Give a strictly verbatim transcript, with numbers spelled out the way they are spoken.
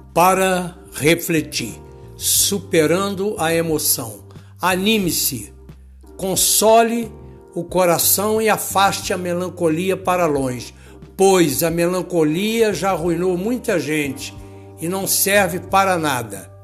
para refletir, superando a emoção. Anime-se, console o coração e afaste a melancolia para longe, pois a melancolia já arruinou muita gente e não serve para nada.